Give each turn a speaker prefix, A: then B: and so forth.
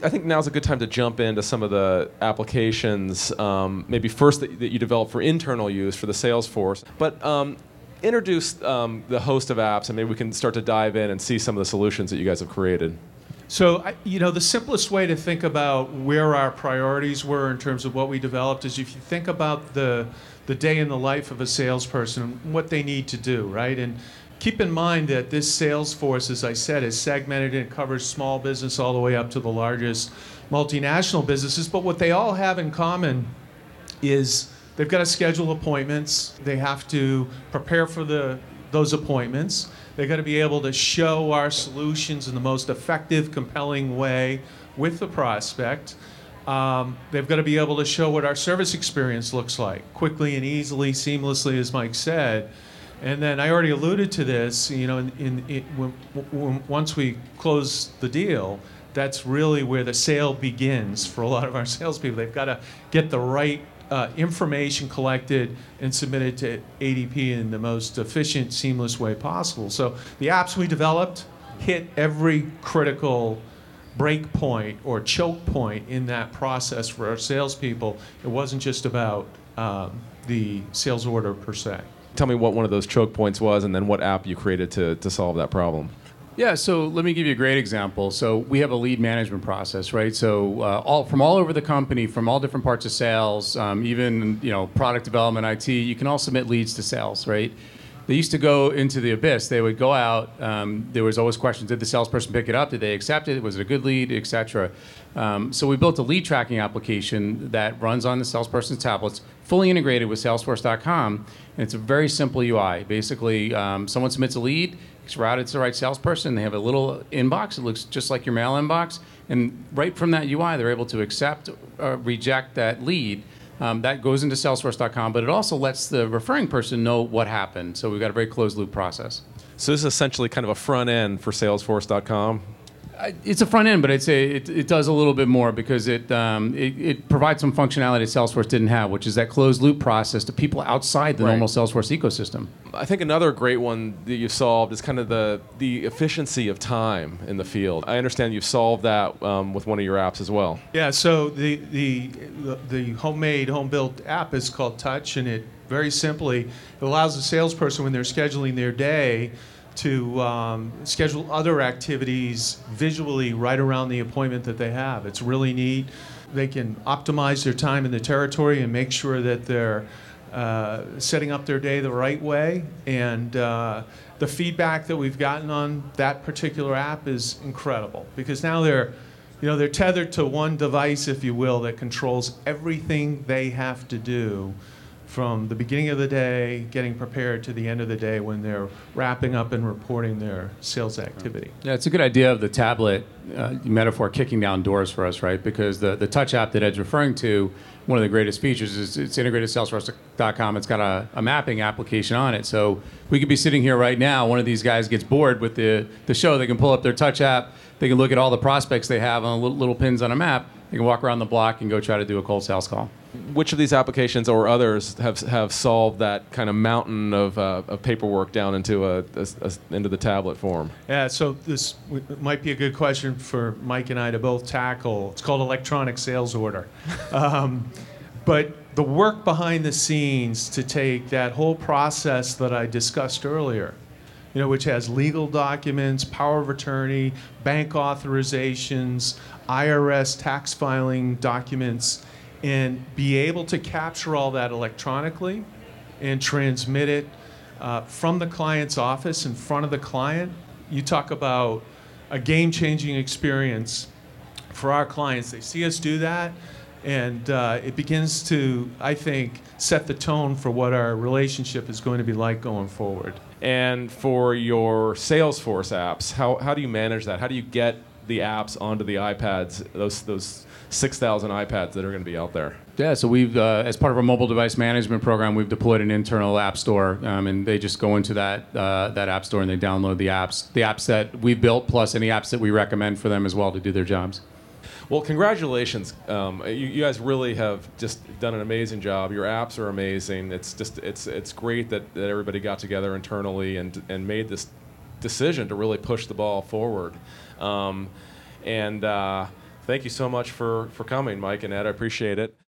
A: I think now's a good time to jump into some of the applications, maybe first that you develop for internal use for the sales force. But introduce the host of apps, and maybe we can start to dive in and see some of the solutions that you guys have created.
B: So, the simplest way to think about where our priorities were in terms of what we developed is if you think about the day in the life of a salesperson, what they need to do, right? And keep in mind that this sales force, as I said, is segmented and covers small business all the way up to the largest multinational businesses. But what they all have in common is they've got to schedule appointments. They have to prepare for those appointments. They've got to be able to show our solutions in the most effective, compelling way with the prospect. They've got to be able to show what our service experience looks like, quickly and easily, seamlessly, as Mike said. And then I already alluded to this, once we close the deal, that's really where the sale begins for a lot of our salespeople. They've got to get the right information collected and submitted to ADP in the most efficient, seamless way possible. So the apps we developed hit every critical break point or choke point in that process for our salespeople. It wasn't just about the sales order per se.
A: Tell me what one of those choke points was, and then what app you created to solve that problem.
C: Yeah, so let me give you a great example. So we have a lead management process, right? So from all over the company, from all different parts of sales, even product development, IT, you can all submit leads to sales, right? They used to go into the abyss. They would go out. There was always questions: did the salesperson pick it up? Did they accept it? Was it a good lead, et cetera? So we built a lead tracking application that runs on the salesperson's tablets, fully integrated with Salesforce.com, and it's a very simple UI. Basically, someone submits a lead. It's routed to the right salesperson. They have a little inbox. It looks just like your mail inbox. And right from that UI, they're able to accept or reject that lead. That goes into Salesforce.com, but it also lets the referring person know what happened. So we've got a very closed loop process.
A: So this is essentially kind of a front end for Salesforce.com.
C: It's a front end, but I'd say it does a little bit more because it provides some functionality that Salesforce didn't have, which is that closed loop process to people outside the normal Salesforce ecosystem.
A: I think another great one that you've solved is kind of the efficiency of time in the field. I understand you've solved that with one of your apps as well.
B: Yeah, so the homemade, home-built app is called Touch, and it very simply it allows the salesperson when they're scheduling their day to schedule other activities visually right around the appointment that they have. It's really neat. They can optimize their time in the territory and make sure that they're setting up their day the right way. And the feedback that we've gotten on that particular app is incredible because now they're tethered to one device, if you will, that controls everything they have to do from the beginning of the day, getting prepared, to the end of the day when they're wrapping up and reporting their sales activity.
C: Yeah, it's a good idea of the tablet metaphor kicking down doors for us, right? Because the Touch app that Ed's referring to, one of the greatest features is it's integrated to Salesforce.com. It's got a mapping application on it. So we could be sitting here right now. One of these guys gets bored with the show. They can pull up their Touch app. They can look at all the prospects they have on little pins on a map. They can walk around the block and go try to do a cold sales call.
A: Which of these applications or others have solved that kind of mountain of paperwork down into the tablet form?
B: Yeah, so this might be a good question for Mike and I to both tackle. It's called electronic sales order. But the work behind the scenes to take that whole process that I discussed earlier, which has legal documents, power of attorney, bank authorizations, IRS tax filing documents, and be able to capture all that electronically and transmit it from the client's office in front of the client. You talk about a game-changing experience for our clients. They see us do that, and it begins to, I think, set the tone for what our relationship is going to be like going forward.
A: And for your Salesforce apps, how do you manage that? How do you get the apps onto the iPads, those 6,000 iPads that are going to be out there?
C: Yeah, so we've, as part of our mobile device management program, we've deployed an internal app store, and they just go into that app store and they download the apps that we've built, plus any apps that we recommend for them as well to do their jobs.
A: Well, congratulations. You guys really have just done an amazing job. Your apps are amazing. It's great that everybody got together internally and made this decision to really push the ball forward. Thank you so much for coming, Mike and Ed. I appreciate it.